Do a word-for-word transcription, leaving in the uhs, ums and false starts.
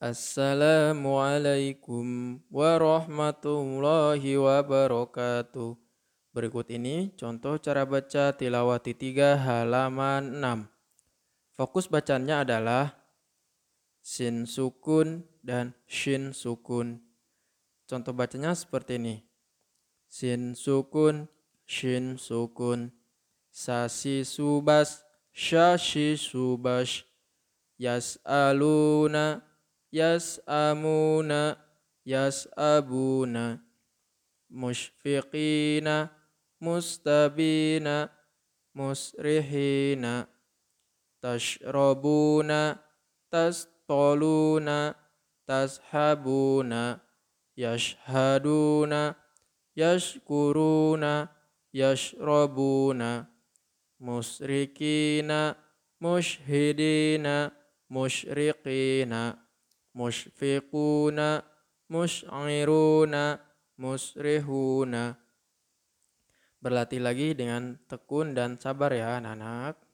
Assalamualaikum warahmatullahi wabarakatuh. Berikut ini contoh cara baca Tilawati tiga halaman enam. Fokus bacanya adalah sin sukun dan shin sukun. Contoh bacanya seperti ini. Sin sukun, shin sukun. Sasi subas, syashi subas. Yas'aluna, yas'amuna, yas'abuna. Musyfiqina, mustabina, musrihina. Tashrabuna, tastoluna, tashabuna. Yashhaduna, yashkuruna, yashrabuna. Musrikina, mushhidina, musyriqina. Musyfiquna, musy'iruna, musrihuna. Berlatih lagi dengan tekun dan sabar ya anak-anak.